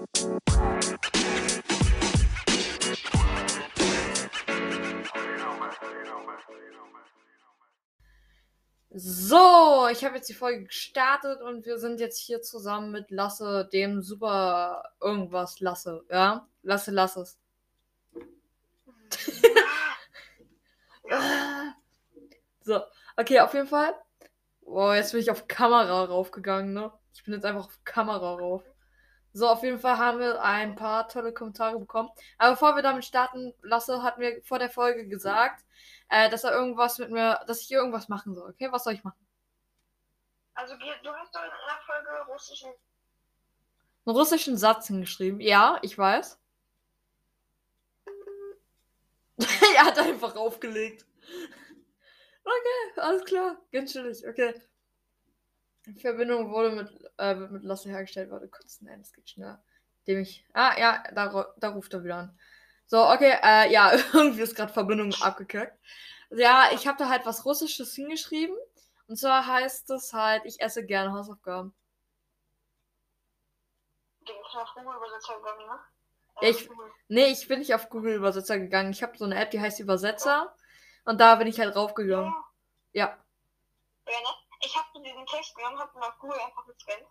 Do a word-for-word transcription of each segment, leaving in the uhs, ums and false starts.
So, ich habe jetzt die Folge gestartet und wir sind jetzt hier zusammen mit Lasse, dem super irgendwas Lasse, ja? Lasse, lass es. So, okay, auf jeden Fall. Boah, jetzt bin ich auf Kamera raufgegangen, ne? Ich bin jetzt einfach auf Kamera rauf. So, auf jeden Fall haben wir ein paar tolle Kommentare bekommen. Aber bevor wir damit starten, Lasse hat mir vor der Folge gesagt, äh, dass er irgendwas mit mir, dass ich irgendwas machen soll, okay? Was soll ich machen? Also, du hast doch in einer Folge russischen... einen russischen Satz hingeschrieben. Ja, ich weiß. Er hat einfach aufgelegt. Okay, alles klar. Ganz chillig. Okay. Die Verbindung wurde mit, äh, mit Lasse hergestellt. Warte kurz. Nein, das geht schneller. Dem ich. Ah, ja, da, da ruft er wieder an. So, okay, äh, ja, irgendwie ist gerade Verbindung abgekackt. Ja, ich habe da halt was Russisches hingeschrieben. Und zwar heißt es halt, ich esse gerne Hausaufgaben. Den ist auf Google-Übersetzer gegangen, ne? Ja, ich, nee, ich bin nicht auf Google-Übersetzer gegangen. Ich habe so eine App, die heißt Übersetzer. Und da bin ich halt raufgegangen. Ja. Ja, ne? Ich habe so diesen Text genommen, habe ihn auf Google einfach gescannt.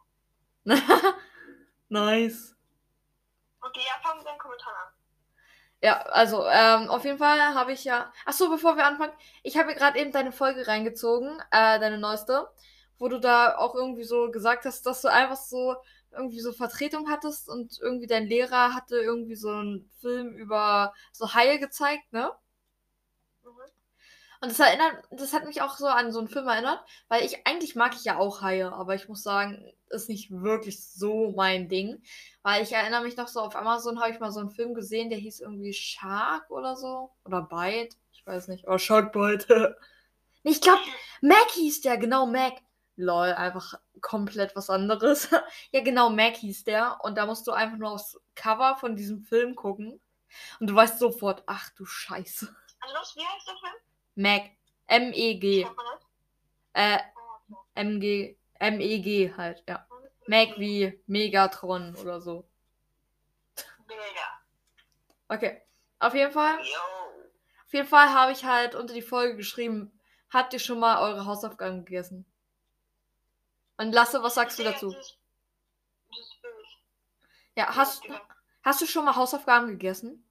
Nice. Okay, ja, fang mit deinen Kommentaren an. Ja, also, ähm, auf jeden Fall habe ich ja. Achso, bevor wir anfangen, ich habe gerade eben deine Folge reingezogen, äh, deine neueste, wo du da auch irgendwie so gesagt hast, dass du einfach so irgendwie so Vertretung hattest und irgendwie dein Lehrer hatte irgendwie so einen Film über so Haie gezeigt, ne? Mhm. Und das erinnert, das hat mich auch so an so einen Film erinnert, weil ich, eigentlich mag ich ja auch Haie, aber ich muss sagen, ist nicht wirklich so mein Ding. Weil ich erinnere mich noch so, auf Amazon habe ich mal so einen Film gesehen, der hieß irgendwie Shark oder so. Oder Bite. Ich weiß nicht. Oh, Shark Bite. Nee, ich glaube, Mac hieß der, genau, Mac. Lol, einfach komplett was anderes. Ja, genau, Mac hieß der. Und da musst du einfach nur aufs Cover von diesem Film gucken. Und du weißt sofort, ach du Scheiße. Also, was, wie heißt der Film? Mac. M E G. Äh, M G. M E G halt, ja. Mac wie Megatron oder so. Mega. Okay. Auf jeden Fall. Yo. Auf jeden Fall habe ich halt unter die Folge geschrieben, habt ihr schon mal eure Hausaufgaben gegessen? Und Lasse, was sagst du dazu? Das ist billig. Ja, hast, hast du schon mal Hausaufgaben gegessen?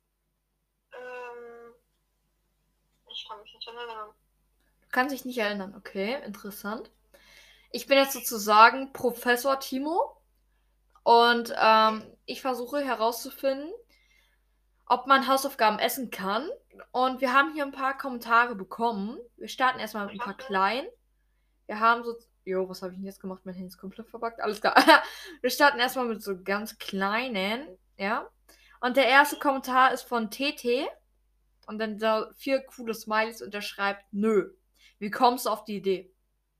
Ähm, ich kann mich nicht erinnern. Du kannst dich nicht erinnern, okay, interessant. Ich bin jetzt sozusagen Professor Timo und ähm, ich versuche herauszufinden, ob man Hausaufgaben essen kann. Und wir haben hier ein paar Kommentare bekommen. Wir starten erstmal mit ein paar kleinen. Wir haben so. Jo, was habe ich denn jetzt gemacht? Mein Handy ist komplett verbuggt. Alles klar. Wir starten erstmal mit so ganz kleinen. Ja. Und der erste Kommentar ist von T T. Und dann da vier coole Smileys und der schreibt: Nö. Wie kommst du auf die Idee?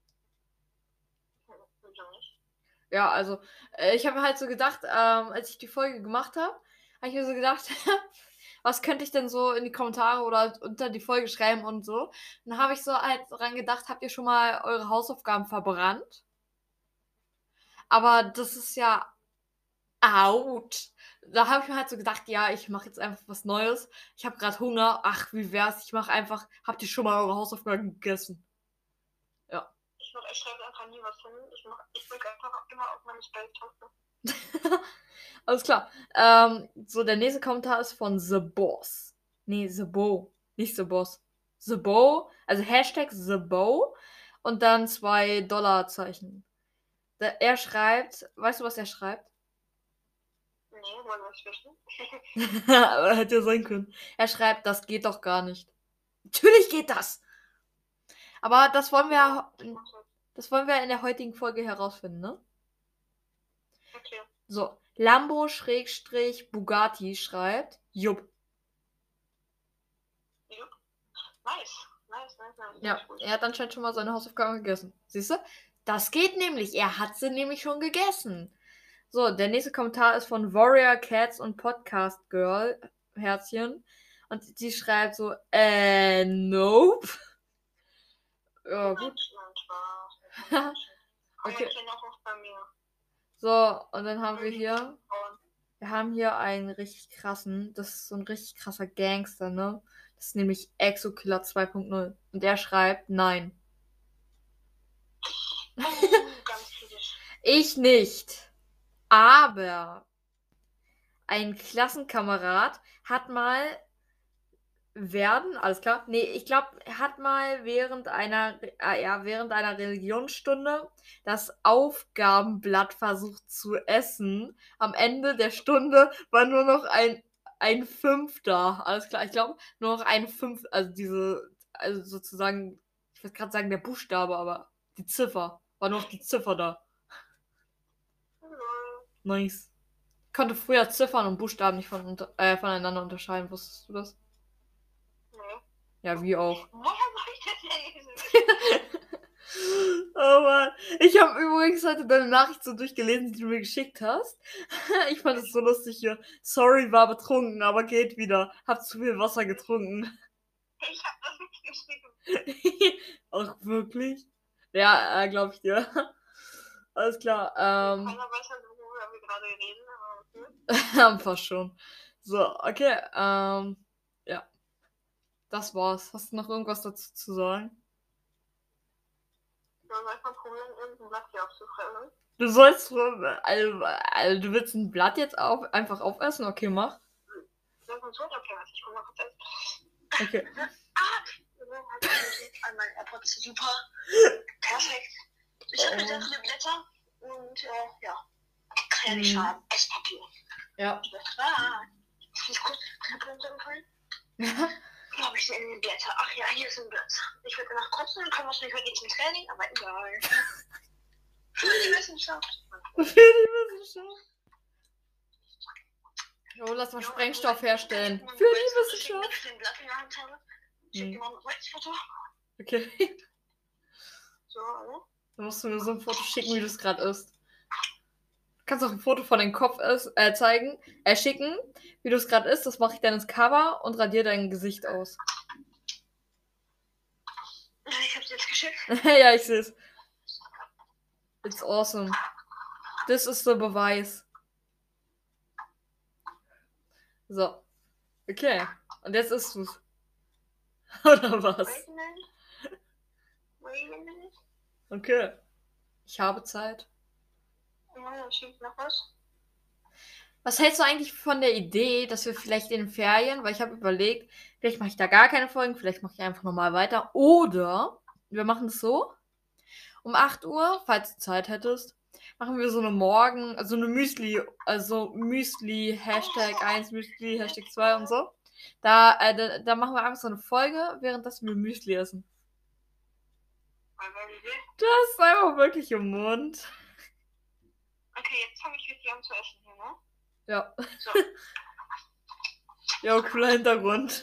Ja, also, äh, ich habe halt so gedacht, ähm, als ich die Folge gemacht habe, habe ich mir so gedacht, was könnte ich denn so in die Kommentare oder unter die Folge schreiben und so. Dann habe ich so halt dran gedacht, habt ihr schon mal eure Hausaufgaben verbrannt? Aber das ist ja out. Da habe ich mir halt so gedacht, ja, ich mache jetzt einfach was Neues. Ich habe gerade Hunger. Ach, wie wär's? Ich mache einfach, habt ihr schon mal eure Hausaufgaben gegessen? Ja. Ich, mach, ich schreibe einfach nie was hin. Ich, mach, ich drücke einfach immer auf meine Spell-Taste. Alles klar. Ähm, so, der nächste Kommentar ist von The Boss. Nee, The Bo. Nicht The Boss. The Bo. Also Hashtag The Bo. Und dann zwei Dollarzeichen. Da, er schreibt, weißt du, was er schreibt? Nee, wollen wir es wissen? Aber hätte ja sein können. Er schreibt, das geht doch gar nicht. Natürlich geht das! Aber das wollen wir, das wollen wir in der heutigen Folge herausfinden, ne? Okay. So, Lambo-Bugatti schreibt, Jupp. Jupp. Nice. Nice, nice, nice. Ja, er hat anscheinend schon mal seine Hausaufgaben gegessen. Siehst du? Das geht nämlich. Er hat sie nämlich schon gegessen. So, der nächste Kommentar ist von Warrior Cats und Podcast Girl, Herzchen. Und sie schreibt so, äh, nope. Ja, gut. Okay. So, und dann haben wir hier Wir haben hier einen richtig krassen, das ist so ein richtig krasser Gangster, ne? Das ist nämlich Exokiller zwei Punkt null. Und der schreibt, nein. Oh, ganz kritisch. Ich nicht. Aber ein Klassenkamerad hat mal werden, alles klar. Nee, ich glaube, er hat mal während einer, äh, ja, während einer Religionsstunde das Aufgabenblatt versucht zu essen. Am Ende der Stunde war nur noch ein, ein Fünf da. Alles klar, ich glaube, nur noch ein Fünf, also diese, also sozusagen, ich würde gerade sagen der Buchstabe, aber die Ziffer. War nur noch die Ziffer da. Nice. Ich konnte früher Ziffern und Buchstaben nicht von, unter- äh, voneinander unterscheiden. Wusstest du das? Nee. Ja, wie auch. Woher soll ich das denn lesen? Oh Mann. Ich habe übrigens heute deine Nachricht so durchgelesen, die du mir geschickt hast. Ich fand es so lustig hier. Sorry, war betrunken, aber geht wieder. Hab zu viel Wasser getrunken. Ich hab das nicht geschrieben. Ach, wirklich? Ja, äh, glaub ich dir. Alles klar. Ähm, Keiner weiß halt, worüber wir gerade reden, aber okay. fast schon. So, okay. Ähm, ja. Das war's. Hast du noch irgendwas dazu zu sagen? Ja, manchmal probieren, irgendein Blatt hier aufzufressen. Du sollst, also, also, du willst ein Blatt jetzt auf, einfach aufessen? Okay, mach. Das ist so okay, was ich guck mal kurz. Okay. Ah! An meinen AirPods, super. Perfekt. Ich habe Oh. sehr viele Blätter und äh, ja, kann ja nicht Hm. schaden. Esspapier. Ja. Ah, ist gut. Knapp runtergefallen. Wo habe ich denn in den Blätter? Ach ja, hier ist ein Blatt. Ich würde danach kotzen, dann können wir es nicht heute zum Training, aber egal. Für die Wissenschaft. Für die Wissenschaft. Oh, lass mal Sprengstoff herstellen. Für die Wissenschaft. Ich den Blatt in der Hand habe. Ich schicke dir mal ein Weißfoto. Okay. So, ne? Dann musst du mir so ein Foto schicken, wie du es gerade isst. Du kannst auch ein Foto von deinem Kopf ist, äh, zeigen, äh, schicken, wie du es gerade isst. Das mache ich dann ins Cover und radiere dein Gesicht aus. Ich hab's jetzt geschickt. Ja, ich sehe es. It's awesome. Das ist der Beweis. So. Okay. Und jetzt isst du's. Oder was? Wait a minute. Wait a minute. Okay. Ich habe Zeit. Ja, dann schickt noch was. Was hältst du eigentlich von der Idee, dass wir vielleicht in den Ferien, weil ich habe überlegt, vielleicht mache ich da gar keine Folgen, vielleicht mache ich einfach nochmal weiter. Oder wir machen es so. Um acht Uhr, falls du Zeit hättest, machen wir so eine Morgen, also eine Müsli, also Müsli, Hashtag eins, Müsli, Hashtag zwei und so. Da, äh, da, da machen wir einfach so eine Folge, während das wir Müsli essen. Mal eine Idee. Das ist einfach wirklich im Mund. Okay, jetzt fange ich richtig an zu essen hier, ne? Ja. So. Ja, cooler Hintergrund.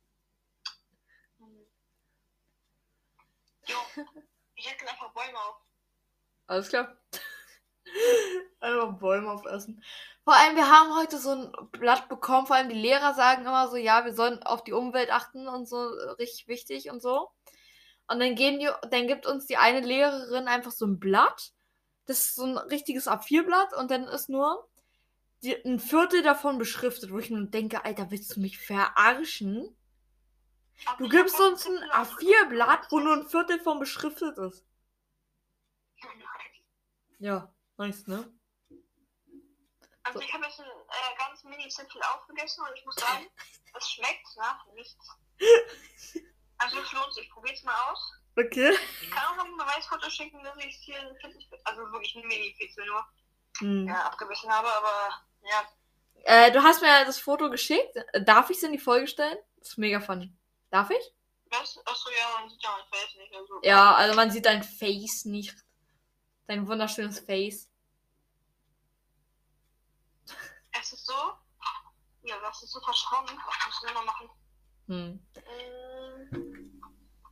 Jo. Ich hätte einfach Bäume auf. Alles klar. Einfach Bäume aufessen. Vor allem, wir haben heute so ein Blatt bekommen, vor allem die Lehrer sagen immer so, ja, wir sollen auf die Umwelt achten und so, richtig wichtig und so. Und dann geben die, dann gibt uns die eine Lehrerin einfach so ein Blatt. Das ist so ein richtiges A vier Blatt und dann ist nur die, ein Viertel davon beschriftet, wo ich nur denke, Alter, willst du mich verarschen? Du gibst uns ein A vier Blatt, wo nur ein Viertel von beschriftet ist. Ja, nice, ne? Also ich habe jetzt ein äh, ganz mini Zipfel aufgegessen und ich muss sagen, es schmeckt nach nichts. Also es lohnt sich, probiert's mal aus. Okay. Ich kann auch noch ein Beweisfoto schicken, dass ich vierundvierzig, also wirklich ein Mini-Pixel nur, Hm. ja, abgebissen habe, aber ja. Äh, du hast mir das Foto geschickt. Darf ich es in die Folge stellen? Das ist mega funny. Darf ich? Was? Achso, ja, man sieht ja mein Face nicht. Also, Ja, also man sieht dein Face nicht. Dein wunderschönes Face. Es ist so, ja, das ist so verschwommen. Das müssen wir noch machen. Hm. Ähm,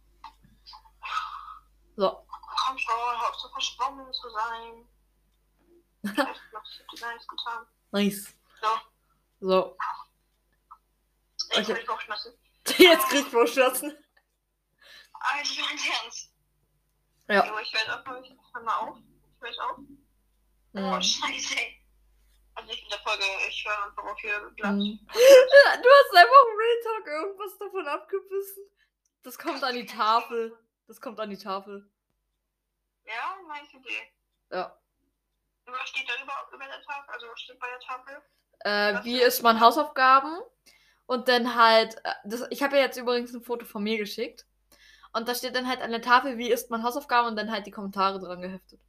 So. komm schon, hör auf so verschwommen zu sein. Ich weiß noch, ich hab dir gar nichts getan. Nice. So, So. ich Okay. will dich aufschmessen. Jetzt krieg ich Vorschmerzen. Also, ganz ernst. Ja. Jo, ich höre auf, ich hör mal auf. Ich höre auf. Oh, Hm. scheiße, ey. Also nicht in der Folge. Folge. Ich höre einfach auf ihr Blatt. Hm. Du hast einfach Real Talk irgendwas davon abgebissen. Das kommt an die Tafel. Das kommt an die Tafel. Ja, meine Idee. Ja. Was steht da über, über der Tafel? Also was steht bei der Tafel? Äh, wie ist man Hausaufgaben? Und dann halt, äh, das, ich habe ja jetzt übrigens ein Foto von mir geschickt. Und da steht dann halt an der Tafel, wie ist man Hausaufgaben? Und dann halt die Kommentare dran geheftet.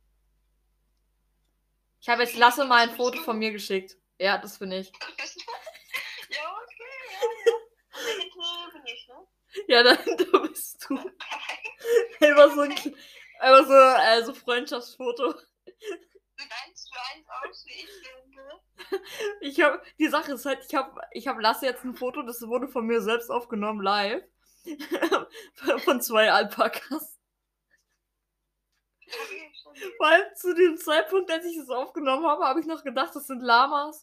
Ich habe jetzt Lasse mal ein Foto von mir geschickt. Ja, das bin ich. Ja, okay, ja, ja. Und der hinten bin ich, ne? Ja, dann da bist du. Einfach so ein einfach so, äh, so Freundschaftsfoto. Sieht eins für eins aus, wie ich denke. Ich habe, die Sache ist halt, ich habe, ich habe Lasse jetzt ein Foto, das wurde von mir selbst aufgenommen, live. Von zwei Alpakas. Weil zu dem Zeitpunkt, als ich das aufgenommen habe, habe ich noch gedacht, das sind Lamas.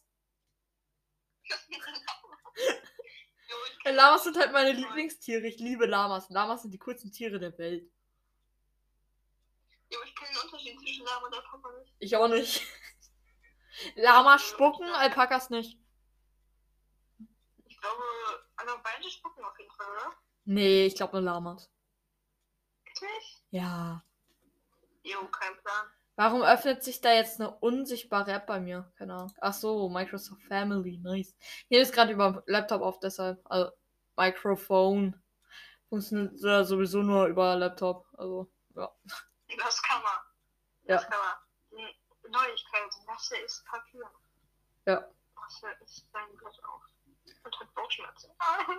Lamas sind halt meine Lieblingstiere. Ich liebe Lamas. Lamas sind die coolsten Tiere der Welt. Ja, aber ich kenne den Unterschied zwischen Lama und Alpaka nicht. Ich auch nicht. Lamas spucken, Alpakas nicht. Ich glaube, aber beide spucken auf jeden Fall, oder? Nee, ich glaube nur Lamas. Wirklich? Ja. Jo, kein Plan. Warum öffnet sich da jetzt eine unsichtbare App bei mir? Keine Ahnung. Ach so, Microsoft Family, nice. Hier ist gerade über Laptop auf, deshalb. Also, Microphone. Funktioniert ja sowieso nur über Laptop. Also, ja. Das kann man. Das Ja. kann man. Neuigkeiten. Lasse ist Papier. Ja. Lasse ist sein Blatt auf. Und hat Bauchschmerzen.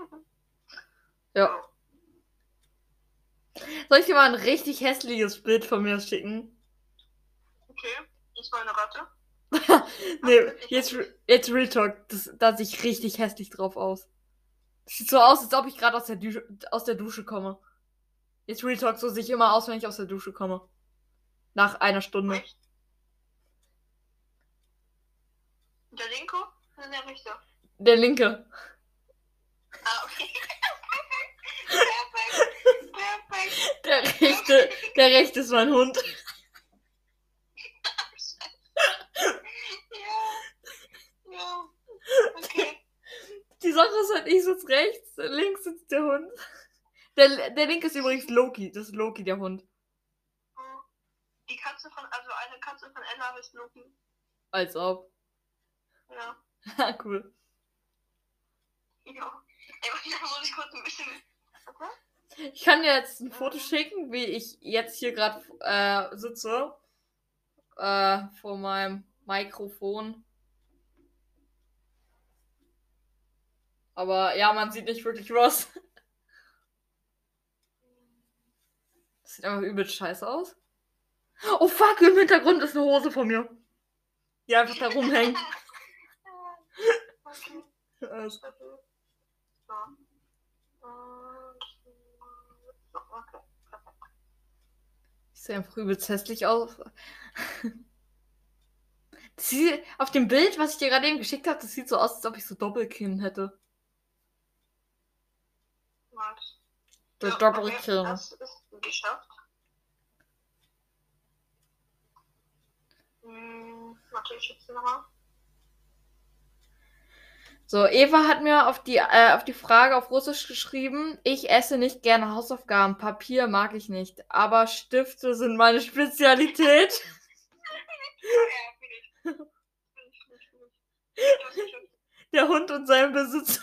Ja. Soll ich dir mal ein richtig hässliches Bild von mir schicken? Okay, ist mal eine Ratte. Nee, jetzt, jetzt Real Talk. Das, da sehe ich richtig hässlich drauf aus. Das sieht so aus, als ob ich gerade aus, der Dusche- aus der Dusche komme. Jetzt Real Talk, so sehe ich immer aus, wenn ich aus der Dusche komme. Nach einer Stunde. Echt? Der linke oder der rechte? Der linke. Ah, okay. Perfekt. Perfekt. Der rechte, der rechte ist mein Hund. Ja. Ja. Okay. Die Sache ist halt, ich sitze rechts, links sitzt der Hund. Der, der linke ist übrigens Loki. Das ist Loki, der Hund. Die Katze von, also eine Katze von Ella heißt Loki. Als ob. Ja. Cool. Ja. Ey, da muss ich kurz ein bisschen. Okay? Ich kann dir jetzt ein Foto schicken, wie ich jetzt hier gerade äh, sitze. Äh, vor meinem Mikrofon. Aber ja, man sieht nicht wirklich was. Das sieht einfach übel scheiße aus. Oh fuck, im Hintergrund ist eine Hose von mir. Die einfach da rumhängt. Okay. Also, So. Und. So, okay. Perfekt. ich sehe einfach übelst hässlich aus. Das sieht, auf dem Bild, was ich dir gerade eben geschickt habe, das sieht so aus, als ob ich so Doppelkinn hätte. Nice. Der Ja, Doppelkinn. okay, das ist geschafft. Hm, warte, ich schätze nochmal. So, Eva hat mir auf die, äh, auf die Frage auf Russisch geschrieben, ich esse nicht gerne Hausaufgaben, Papier mag ich nicht, aber Stifte sind meine Spezialität. Ja, bin ich. Bin ich, bin ich, bin ich. Der Hund und sein Besitzer.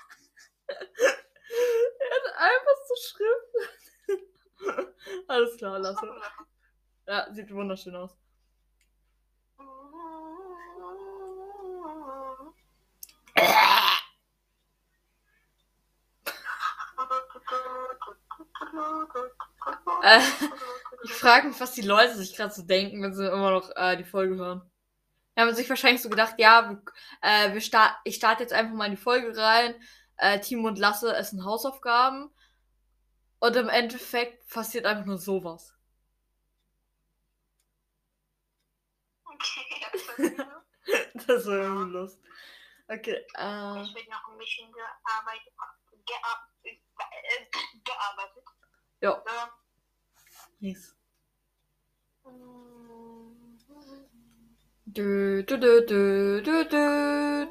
Er hat einfach so Schrift. Alles klar, lasse. Ja, sieht wunderschön aus. Äh, ich frage mich, was die Leute sich gerade so denken, wenn sie immer noch äh, die Folge hören. Die haben sich wahrscheinlich so gedacht, ja, wir, äh, wir start, ich starte jetzt einfach mal in die Folge rein. Äh, Timo und Lasse essen Hausaufgaben. Und im Endeffekt passiert einfach nur sowas. Okay, das ist Das war irgendwie Lust. Okay, äh. Ich will noch ein bisschen gearbeitet. Gear äh, gearbeitet. Ja. Ja. Yes. Du, du, du, du, du, du.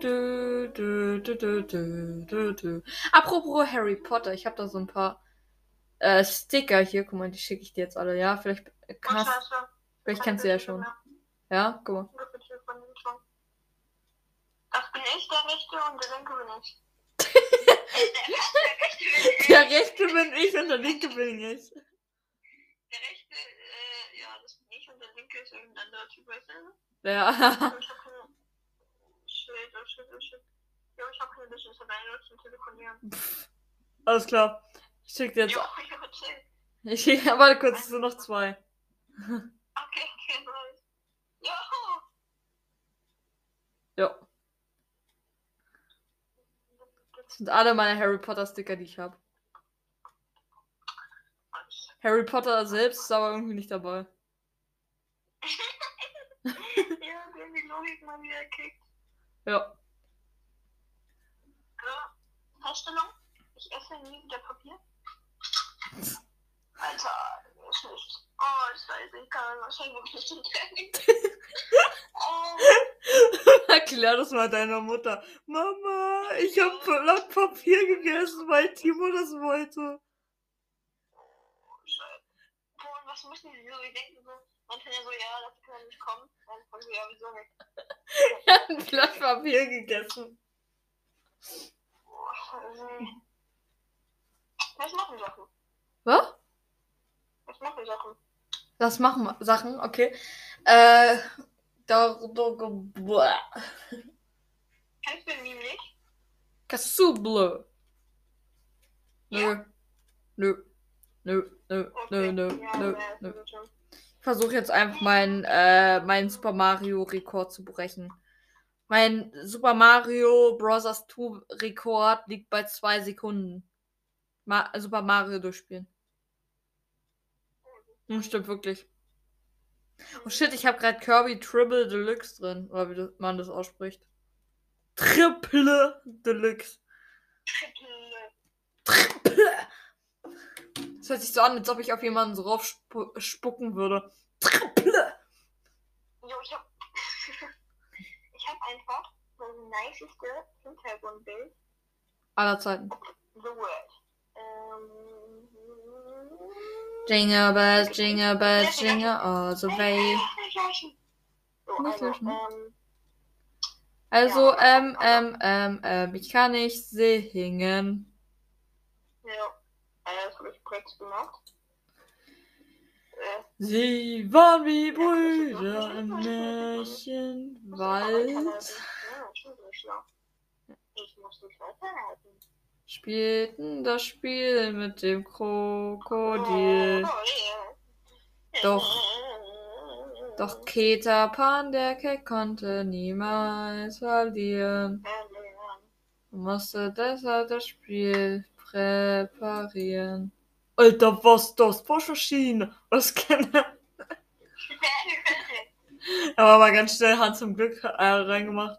dö, dö, dö, dö, dö, dö. Apropos Harry Potter, ich habe da so ein paar äh, Sticker hier. Guck mal, die schicke ich dir jetzt alle, ja? Vielleicht Oh, kannst, scheiße. vielleicht Keine kennst du ja Bildschirme schon. mehr. Ja, guck mal. Ungefähr von den schon. Das bin ich, der Rechte, und der Linke bin ich. Der rechte bin ich und der linke bin ich. Der Rechte, äh, ja, das bin ich, und der Linke ist irgendein anderer Typ, weißt du? Ja. Ich hab keine... Shit, oh shit, oh shit. Jo, ich hab keine Business alleine zum Telefonieren. Pff, alles klar. Ich schick dir jetzt. Jo, ich hab erzählt. Ich schick, warte kurz, es sind noch zwei. Okay, okay, nice. Jo! Ja. Das sind alle meine Harry Potter Sticker, die ich habe. Harry Potter selbst ist aber irgendwie nicht dabei. Ja, wir haben die Logik mal wieder gekickt. Ja. Ja. Feststellung, ich esse nie wieder Papier. Alter, das ist nicht. Oh, scheiße, ich kann wahrscheinlich wirklich nicht Training. Oh. Erklär das mal deiner Mutter. Mama, ich habe Blatt Papier gegessen, weil Timo das wollte. Scheiße. Boah, und was müssen die so? Die denken so, man kann ja so, ja, das kann ja nicht kommen. Dann kommen sie ja wieso weg. Er hat ein Blatt Papier gegessen. Boah, scheiße. Was machen Sachen? Was? Was machen Sachen? Das machen wir. Sachen, okay. Äh, da, da, boah. Kennst du den Meme nicht? Kasuble. Nö. Ja. Nö. Nö, nö, Okay. nö, nö, Ja, nö, ja, nö. das ist schon. Ich versuche jetzt einfach meinen äh, meinen Super Mario Rekord zu brechen. Mein Super Mario Bros. zwei Rekord liegt bei zwei Sekunden. Ma Super Mario durchspielen. Hm, stimmt wirklich. Oh shit, ich habe gerade Kirby Triple Deluxe drin. Oder wie man das ausspricht. Triple Deluxe. Triple. Das hört sich so an, als ob ich auf jemanden so raufspucken würde. Triple. Jo, ich hab. Ich hab einfach so ein niceste Hintergrundbild. Aller Zeiten. The World. Ähm. Jingle bells, jingle bells, jingle all the way. Nicht löschen. So, Nicht also, löschen. ähm. Also, Ja, ähm, aber- ähm, ähm, ähm, ich kann nicht singen. Ja. Äh, das hab ich kurz gemacht. Äh, Sie waren wie Ja, Brüder das im ist- Märchenwald. Ja, ich bin so schlau. Ich muss mich weiterhalten. Spielten das Spiel mit dem Krokodil. Doch, doch Peter Pan, der Keck, konnte niemals verlieren. Und musste deshalb das Spiel präparieren. Alter, was das? Waschmaschine. Was kann er? Er war mal ganz schnell Hand zum Glück äh, reingemacht.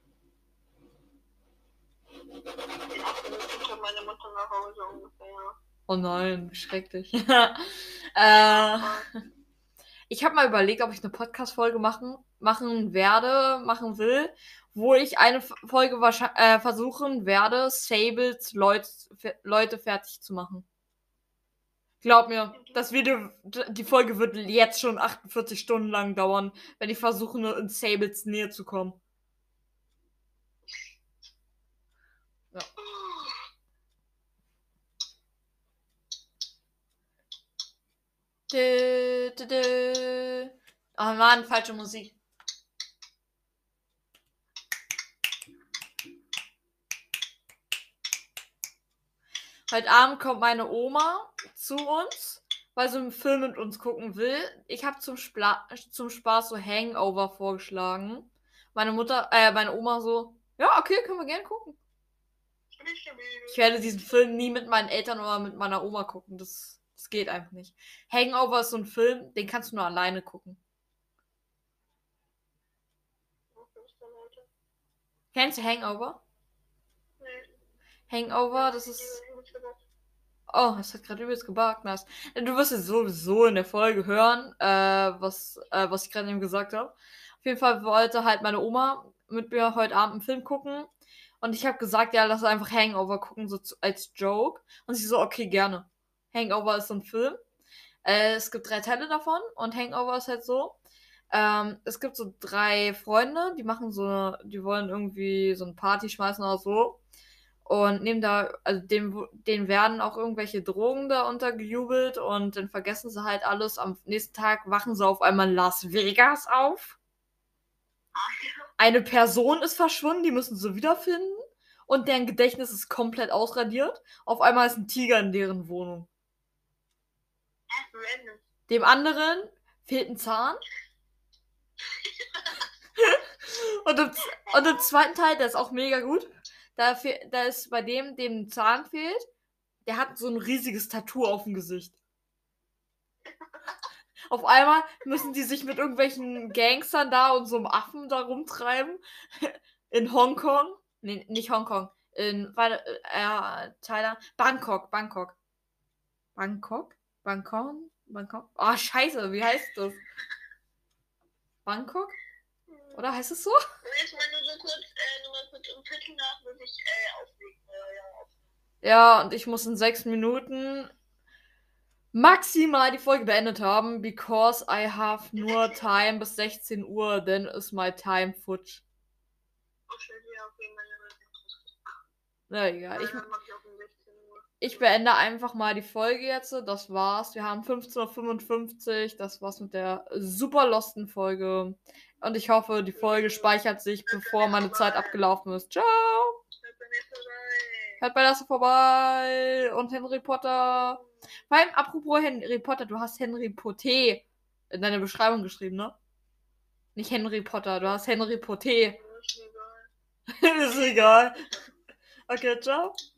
Meine Mutter nach Hause ungefähr. Oh nein, wie schrecklich. äh, ich habe mal überlegt, ob ich eine Podcast-Folge machen, machen werde, machen will, wo ich eine F- Folge wahrscheinlich äh, versuchen werde, Sables Leut, fe- Leute fertig zu machen. Glaub mir, das Video, d- die Folge wird jetzt schon achtundvierzig Stunden lang dauern, wenn ich versuche, nur in Sables Nähe zu kommen. Ja. Dö, dö, dö. Oh Mann, falsche Musik. Heute Abend kommt meine Oma zu uns, weil sie einen Film mit uns gucken will. Ich habe zum, Spla- zum Spaß so Hangover vorgeschlagen. Meine Mutter, äh, meine Oma so, ja, okay, können wir gerne gucken. Ich werde diesen Film nie mit meinen Eltern oder mit meiner Oma gucken. Das, das geht einfach nicht. Hangover ist so ein Film, den kannst du nur alleine gucken. Kennst du Hangover? Hangover, das ist... Oh, das hat gerade übelst gebuggt. Nice. Du wirst es sowieso in der Folge hören, äh, was, äh, was ich gerade eben gesagt habe. Auf jeden Fall wollte halt meine Oma mit mir heute Abend einen Film gucken. Und ich habe gesagt, ja, lass einfach Hangover gucken, so zu, als Joke. Und sie so, okay, gerne. Hangover ist so ein Film. Äh, es gibt drei Teile davon und Hangover ist halt so. Ähm, es gibt so drei Freunde, die machen so, die wollen irgendwie so eine Party schmeißen oder so. Und nehmen da, also dem, denen werden auch irgendwelche Drogen da untergejubelt und dann vergessen sie halt alles. Am nächsten Tag wachen sie auf einmal in Las Vegas auf. Eine Person ist verschwunden, die müssen sie wiederfinden. Und deren Gedächtnis ist komplett ausradiert. Auf einmal ist ein Tiger in deren Wohnung. Dem anderen fehlt ein Zahn. und, im, und im zweiten Teil, der ist auch mega gut. Da, fe- da ist bei dem, dem ein Zahn fehlt, der hat so ein riesiges Tattoo auf dem Gesicht. Auf einmal müssen die sich mit irgendwelchen Gangstern da und so einem Affen da rumtreiben. In Hongkong. Nee, nicht Hongkong. In, warte, äh, Thailand. Bangkok, Bangkok. Bangkok? Bangkok? Bangkok? Oh, scheiße, wie heißt das? Bangkok? Oder heißt es so? Jetzt mal nur so kurz, äh, nur mal kurz um Viertel nach, muss ich äh, auflegen. Äh, ja, auflegen. Ja, und ich muss in sechs Minuten maximal die Folge beendet haben, because I have nur time bis sechzehn Uhr, then is my time futsch. Okay, ja, okay, meine Na egal, ich, ich mach ich auch um sechzehn Uhr. ich beende einfach mal die Folge jetzt. Das war's. Wir haben fünfzehn Uhr fünfundfünfzig. Das war's mit der super losten Folge. Und ich hoffe, die Folge speichert sich, bevor meine Zeit abgelaufen ist. Ciao! Hört bei mir vorbei. Hört bei Lasse vorbei. Und Henry Potter. Vor allem, apropos Henry Potter, du hast Henry Potter in deiner Beschreibung geschrieben, ne? Nicht Henry Potter, du hast Henry Potter. Ist mir egal. Ist egal. Okay, ciao.